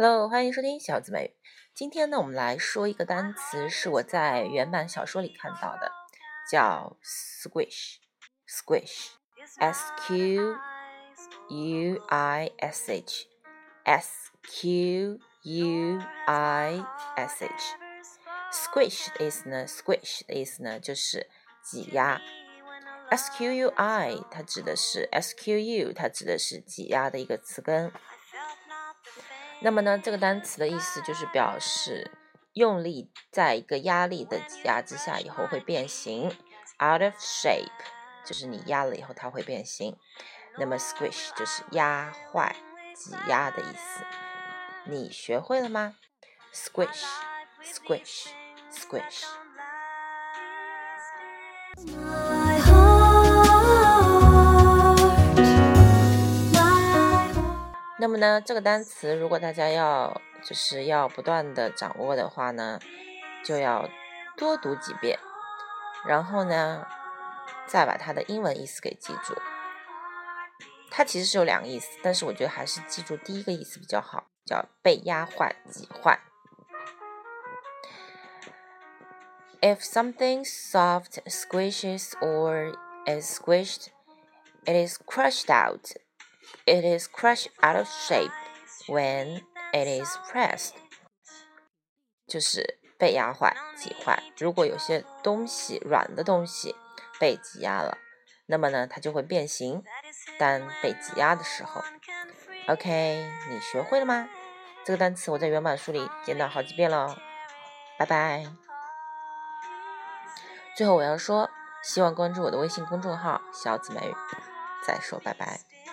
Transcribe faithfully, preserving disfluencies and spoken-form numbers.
Hello， 欢迎收听小紫美语。今天呢，我们来说一个单词，是我在原版小说里看到的，叫 squish。squish，s q u i s h，s q u i s h。squish 的意思呢 ，squish 的意思呢就是挤压。S Q U I 它指的是 S Q U 它指的是挤压的一个词根。那么呢，这个单词的意思就是表示用力在一个压力的挤压之下以后会变形 ，out of shape 就是你压了以后它会变形。那么 squish 就是压坏、挤压的意思。你学会了吗 ？Squish, squish, squish。那么呢，这个单词如果大家要就是要不断的掌握的话呢，就要多读几遍，然后呢，再把它的英文意思给记住。它其实是有两个意思，但是我觉得还是记住第一个意思比较好，叫被压坏、挤坏。If something soft squishes or is squished, it is crushed out.It is crushed out of shape when it is pressed. 就是被压坏、挤坏。如果有些东西软的东西被挤压了，那么呢，它就会变形。当被挤压的时候 ，OK， 你学会了吗？这个单词我在原版书里见到好几遍了。拜拜。最后我要说，希望关注我的微信公众号“小紫美语”。再说拜拜。